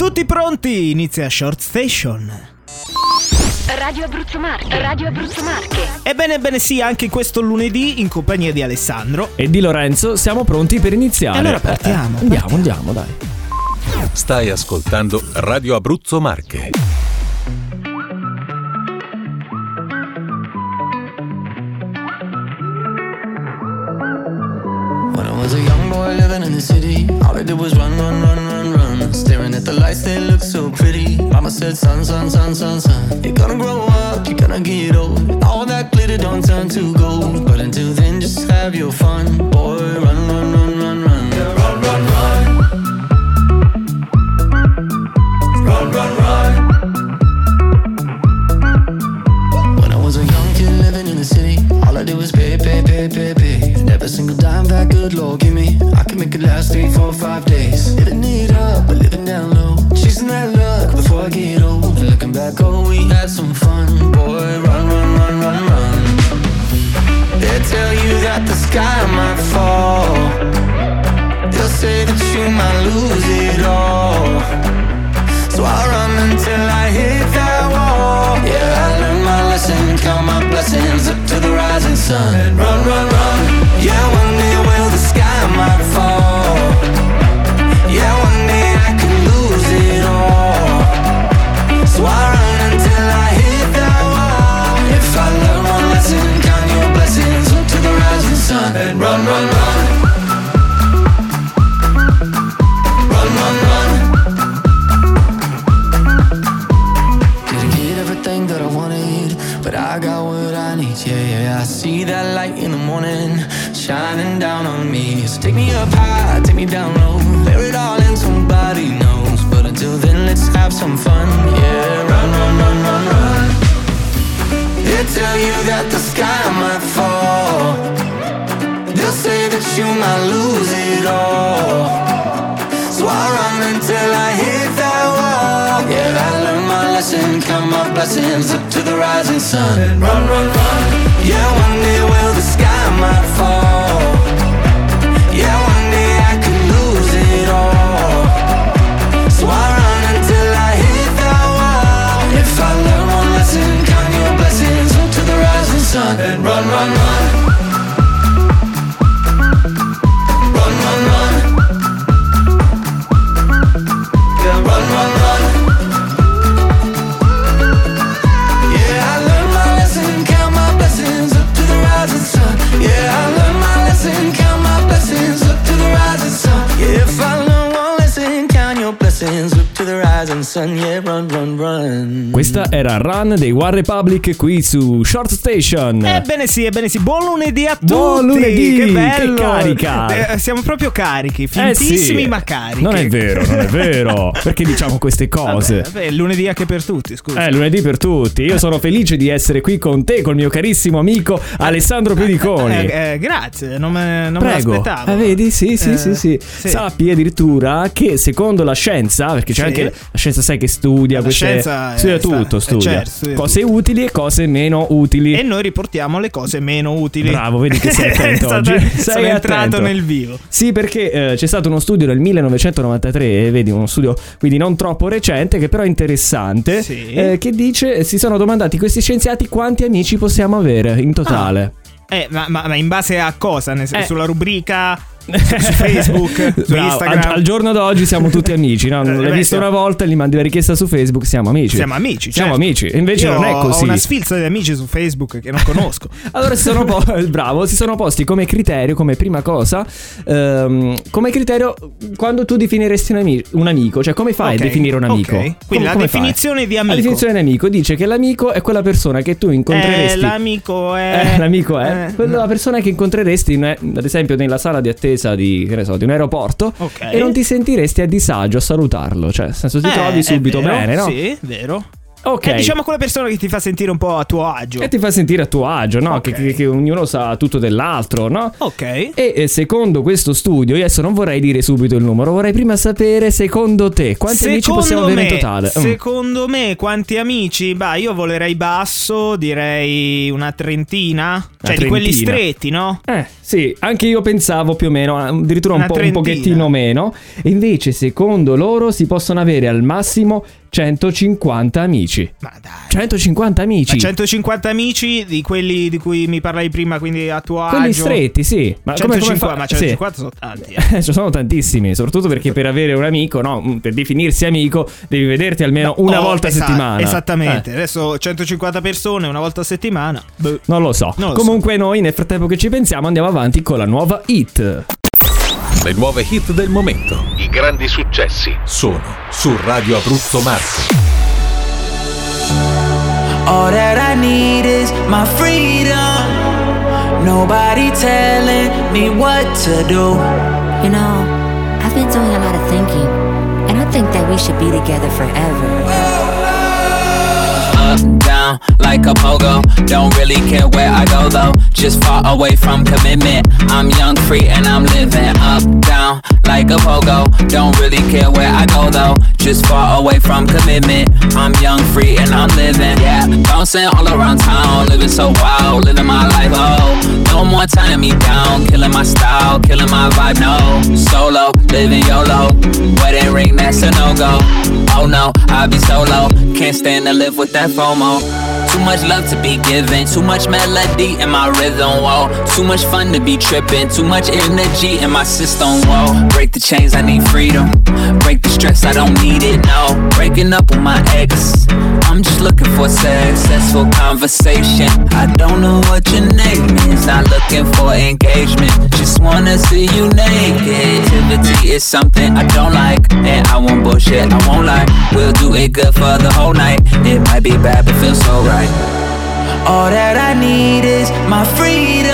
Tutti pronti? Inizia Short Station. Radio Abruzzo Marche. Radio Abruzzo Marche. Ebbene sì, anche questo lunedì in compagnia di Alessandro e di Lorenzo siamo pronti per iniziare. E allora partiamo. Andiamo, dai. Stai ascoltando Radio Abruzzo Marche. When I was a young boy living in the city, all I did was run. Staring at the lights, they look so pretty. Mama said, son, you're gonna grow up, you're gonna get old. All that glitter don't turn to gold. But until then, just have your fun. Boy, run. Yeah, run. Run. When I was a young kid living in the city, all I did was pay. Never single dime that good Lord give me. I can make it last 3, 4, 5 days. Living it up, but living down low. Chasing that luck before I get old. Looking back, oh, we had some fun. Boy, run. They'll tell you that the sky might fall. They'll say that you might lose it all. So I run until I hit that wall. Yeah, I learned my lesson, count my blessings up to the rising sun. And run. Yeah, one day will the sky might fall. Yeah, one day I could lose it all. So I run until I hit that wall. If I learn one lesson, count your blessings up to the rising sun. And run. That I wanted, but I got what I need. Yeah, I see that light in the morning shining down on me. So take me up high, take me down low, bear it all and somebody knows. But until then, let's have some fun. Yeah, run. They'll tell you that the sky might fall. They'll say that you might lose it all. So I run until I hit that wall. Yeah, I learned my lesson, count my blessings up to the rising sun. And run. Yeah, one day will the sky might fall. Yeah, one day I could lose it all. So I run until I hit that wall. If I learn one lesson, count your blessings up to the rising sun. And run. Questa era Run dei One Republic qui su Short Station. Ebbene sì, buon lunedì a tutti. Buon lunedì, che bello, che carica. Siamo proprio carichi, fintissimi sì. Ma carichi. Non è vero. Perché diciamo queste cose? Vabbè, lunedì anche per tutti, scusa. Lunedì per tutti. Io sono felice di essere qui con te, col mio carissimo amico Alessandro Pediconi. Grazie, non me l'aspettavo. Vedi? Sì. Sappi addirittura che secondo la scienza, perché c'è anche la scienza, sai, che studia tutto, studia cose utili e cose meno utili. E noi riportiamo le cose meno utili. Bravo, vedi che sei attento oggi. Sono entrato nel vivo. Sì, perché c'è stato uno studio nel 1993, vedi, uno studio quindi non troppo recente, che però è interessante, che dice, si sono domandati questi scienziati quanti amici possiamo avere in totale. Ma in base a cosa? Sulla rubrica su Facebook, su Instagram. Al giorno d'oggi siamo tutti amici, no? L'hai visto una volta, gli mandi la richiesta su Facebook, siamo amici. Siamo certo. Amici. E invece io non è così. Ho una sfilza di amici su Facebook che non conosco. Allora si sono posti come criterio, come prima cosa, come criterio quando tu definiresti un amico, cioè come fai a definire un amico? Quindi la definizione di amico. La definizione di amico dice che l'amico è quella persona che tu incontreresti. L'amico è quella persona che incontreresti, ad esempio, nella sala di attesa di un aeroporto, e non ti sentiresti a disagio a salutarlo, cioè nel senso ti trovi subito vero, bene, no? Sì, vero. Ok. Diciamo quella persona che ti fa sentire un po' a tuo agio. E ti fa sentire a tuo agio, no? Okay. Che ognuno sa tutto dell'altro, no? Ok. E secondo questo studio, io adesso non vorrei dire subito il numero, vorrei prima sapere, secondo te, quanti amici possiamo avere in totale? Secondo me, quanti amici? Bah, io volerei basso, direi una trentina. Cioè di quelli stretti, no? Sì, anche io pensavo più o meno, addirittura un pochettino meno. E invece, secondo loro, si possono avere al massimo 150 amici. Ma dai. 150 amici. Ma 150 amici di quelli di cui mi parlavi prima, quindi a tuo agio. Quelli stretti, sì. Ma 150, ma 150 sì. sono tanti. Ci sono tantissimi, soprattutto perché per avere un amico, no, per definirsi amico, devi vederti almeno una volta a settimana. Esattamente. Adesso 150 persone una volta a settimana. Non lo so. Comunque noi nel frattempo che ci pensiamo andiamo avanti con la nuova hit. Le nuove hit del momento, i grandi successi, sono su Radio Abruzzo Marche. All that I need is my freedom. Nobody telling me what to do. You know, I've been doing a lot of thinking, and I think that we should be together forever. Up, down, like a pogo. Don't really care where I go though. Just far away from commitment. I'm young, free, and I'm living. Up, down, like a pogo. Don't really care where I go though. Just far away from commitment. I'm young, free, and I'm living. Yeah, bouncing all around town, living so wild, living my life. Oh, no more tying me down, killing my style, killing my vibe. No, solo, living YOLO. Wedding ring, that's a no-go. Oh no, I'll be solo. Can't stand to live with that FOMO. Too much love to be given, too much melody in my rhythm, whoa. Too much fun to be tripping, too much energy in my system, whoa. Break the chains, I need freedom. Break the stress, I don't need it, no. Breaking up with my ex, I'm just looking for successful conversation. I don't know what your name is, not looking for engagement. Just wanna see you naked. Activity is something I don't like, and I won't bullshit, I won't lie. We'll do it good for the whole night. It might be bad, but feels so right. All that I need is my freedom.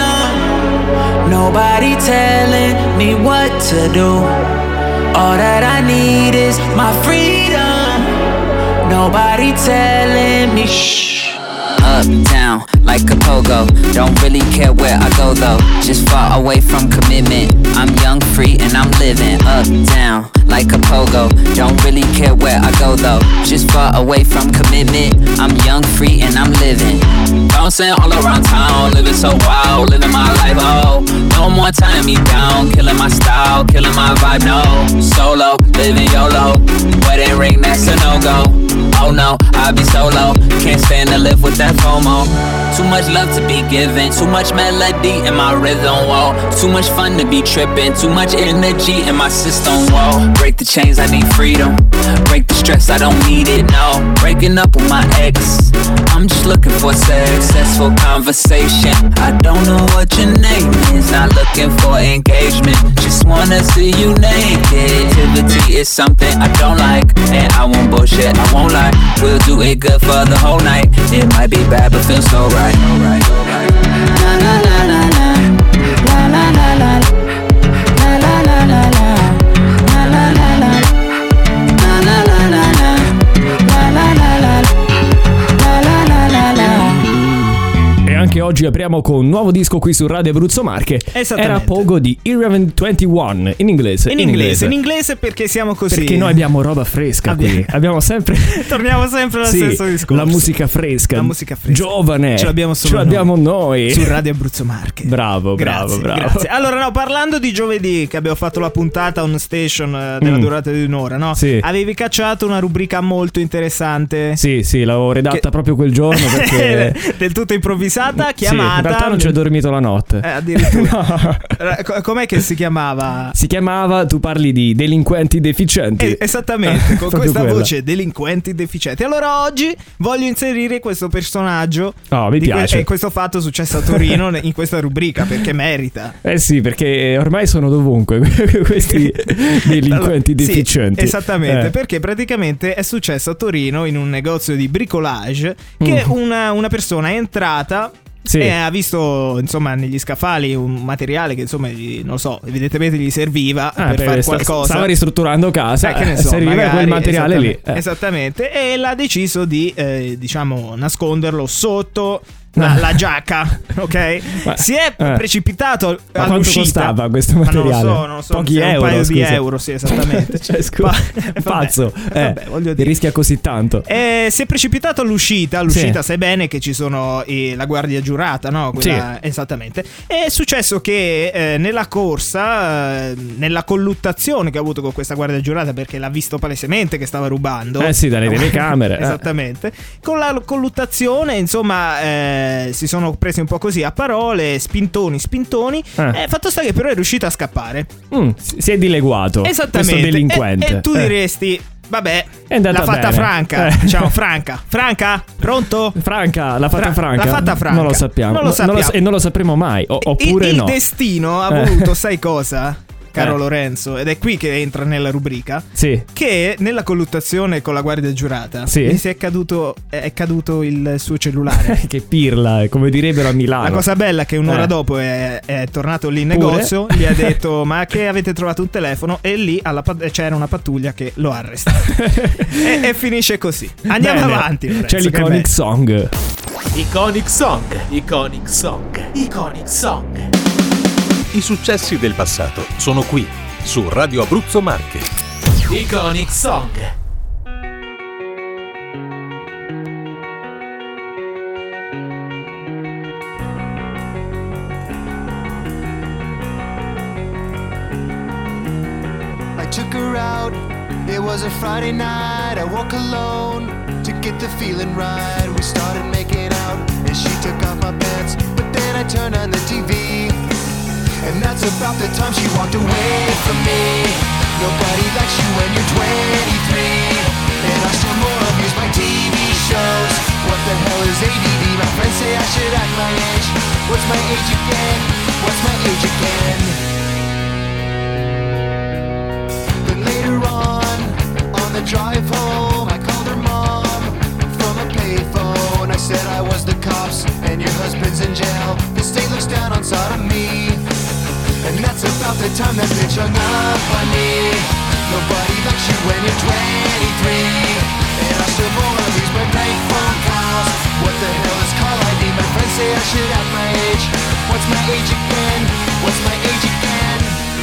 Nobody telling me what to do. All that I need is my freedom. Nobody telling me shh. Up, down, like a pogo. Don't really care where I go though. Just far away from commitment. I'm young, free, and I'm living. Up, down, like a pogo. Don't really care where I go though. Just far away from commitment. I'm young, free, and I'm living. Bouncing all around town, living so wild, living my life. Oh, no more tying me down, killing my style, killing my vibe. No, solo, living YOLO. Wedding ring, that's a no-go. Oh no, I'll be solo. Can't stand to live with that FOMO. Too much love to be given, too much melody in my rhythm, whoa. Too much fun to be tripping, too much energy in my system, whoa. Break the chains, I need freedom. Break the stress, I don't need it, no. Breaking up with my ex, I'm just looking for successful conversation. I don't know what your name is, not looking for engagement. Just wanna see you naked. Activity is something I don't like, and I won't bullshit, I won't lie. We'll do it good for the whole night. It might be bad, but feels so right. La la la la la. La la la la. La la la la la. La la la la. La la la la la. La la la la. La la la la. E anche oggi apriamo con un nuovo disco qui su Radio Abruzzo Marche. Esattamente. Era Pogo di Irrelevant 21 in inglese. In inglese perché siamo così. Perché noi abbiamo roba fresca qui. Abbiamo sempre. Torniamo sempre allo stesso discorso. La musica fresca. La musica fresca. Giovane. Ce l'abbiamo solo noi. Su Radio Abruzzo Marche. Bravo. Grazie. Allora, no, parlando di giovedì, che abbiamo fatto la puntata on station della durata di un'ora, no? Sì. Avevi cacciato una rubrica molto interessante. Sì, l'avevo redatta proprio quel giorno perché del tutto improvvisata, chiamata. Sì, in realtà non ci ho dormito la notte. Addirittura. No. Com'è che si chiamava? Si chiamava, tu parli di delinquenti deficienti. Esattamente, con questa quella voce, delinquenti deficienti. Allora oggi voglio inserire questo personaggio. Mi piace. E questo fatto successo a Torino in questa rubrica, perché merita. Sì, perché ormai sono dovunque questi delinquenti deficienti. Sì, esattamente, perché praticamente è successo a Torino in un negozio di bricolage che una persona è entrata Sì. E ha visto, insomma, negli scaffali un materiale che, insomma, non lo so, evidentemente gli serviva per fare qualcosa. Stava ristrutturando casa, che ne so, serviva magari, quel materiale lì. Esattamente. E l'ha deciso di, diciamo, nasconderlo sotto la giacca, ok? Ma, si è precipitato all'uscita. Quanto costava questo materiale? Non lo so, pochi euro, un paio scusa. di euro, sì, esattamente. Cioè, scusa, pazzo, vabbè, voglio dire. rischia così tanto. Si è precipitato all'uscita, sì. Sai bene che ci sono la guardia giurata, no? Quella, sì. Esattamente. È successo che nella corsa, nella colluttazione che ha avuto con questa guardia giurata, perché l'ha visto palesemente che stava rubando. Sì, dalle telecamere. Esattamente. Con la colluttazione, insomma, si sono presi un po' così a parole, spintoni. Fatto sta che però è riuscito a scappare. Si è dileguato. Esattamente. Questo delinquente. E tu diresti: vabbè, l'ha fatta bene. Franca. Diciamo Franca, pronto? Franca, l'ha fatta Franca. L'ha fatta Franca. Non lo sappiamo. E non lo sapremo mai. Oppure il no. destino ha voluto, sai cosa? Caro Lorenzo, ed è qui che entra nella rubrica. Sì. Che nella colluttazione con la guardia giurata gli è caduto il suo cellulare. Che pirla, come direbbero a Milano. La cosa bella è che un'ora dopo è tornato lì in negozio, gli ha detto: ma che avete trovato un telefono? E lì c'era una pattuglia che lo ha arrestato. e finisce così. Andiamo avanti, Lorenzo. C'è l'Iconic Song. Iconic Song. I successi del passato sono qui, su Radio Abruzzo Marche. Iconic Song. I took her out, it was a Friday night. I woke alone to get the feeling right. We started making out and she took off my pants, but then I turned on the TV. And that's about the time she walked away from me. Nobody likes you when you're 23. And I still more amuse by TV shows. What the hell is ADD? My friends say I should act my age. What's my age again? What's my age again? But later on the drive home, I called her mom from a payphone. I said I was the cops and your husband's in jail. The state looks down on sodomy. And that's about the time that bitch hung up on me. Nobody likes you when you're 23. And I still more of these my bank phone calls. What the hell is call ID? My friends say I should have my age. What's my age again? What's my age again?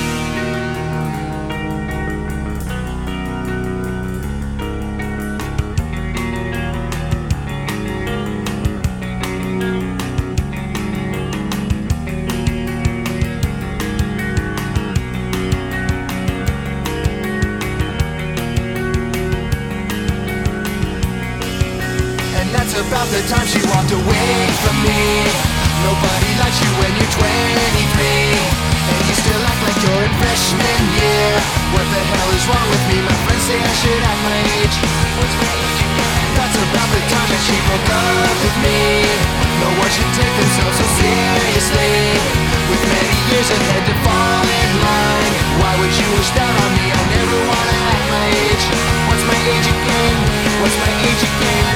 About the time she walked away from me. Nobody likes you when you're 23. And you still act like you're in freshman year. What the hell is wrong with me? My friends say I should act my age. What's my age again? That's about the time that she broke up with me. No one should take themselves so seriously. With many years ahead to fall in line. Why would you wish that on me? I never wanna act my age. What's my age again? What's my age again?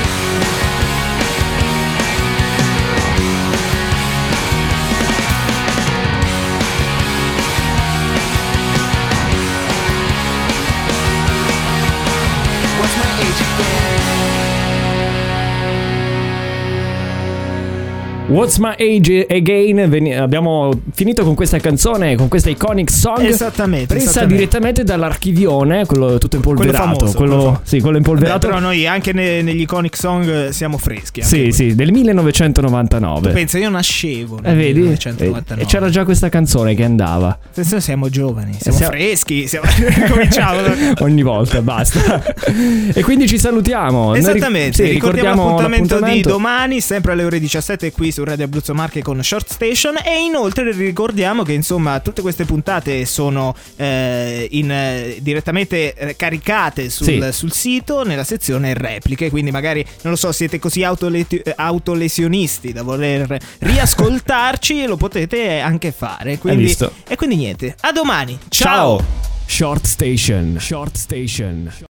What's My Age Again. Abbiamo finito con questa canzone, con questa Iconic Song. Esattamente. Presa direttamente dall'archivione, quello tutto impolverato. Quello impolverato. Però noi anche negli Iconic Song siamo freschi. Sì, del 1999. Tu pensa, io nascevo nel 1999. E c'era già questa canzone che andava. Penso siamo giovani, siamo freschi, cominciamo ogni volta, basta. E quindi ci salutiamo. Esattamente, ricordiamo l'appuntamento di domani, sempre alle ore 17 qui su Radio Abruzzo Marche con Short Station. E inoltre ricordiamo che insomma tutte queste puntate sono direttamente caricate sul sito nella sezione repliche, quindi magari non lo so, siete così autolesionisti da voler riascoltarci lo potete anche fare, quindi, e quindi niente, a domani, ciao. Short Station.